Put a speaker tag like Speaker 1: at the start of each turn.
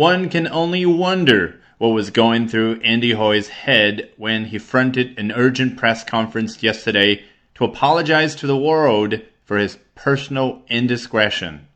Speaker 1: One can only wonder what was going through Andy Hoy's head when he fronted an urgent press conference yesterday to apologize to the world for his personal indiscretion.